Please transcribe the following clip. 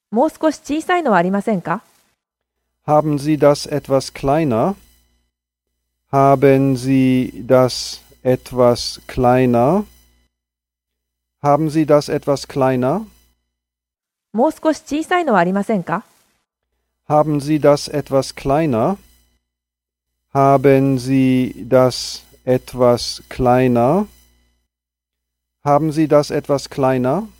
もう少し小さいのはありませんか？ Haben Sie das etwas kleiner? Haben Sie das etwas kleiner? Haben Sie das etwas kleiner? もう少し小さいのはありませんか？ Haben Sie das etwas kleiner? Haben Sie das etwas kleiner? Haben Sie das etwas kleiner?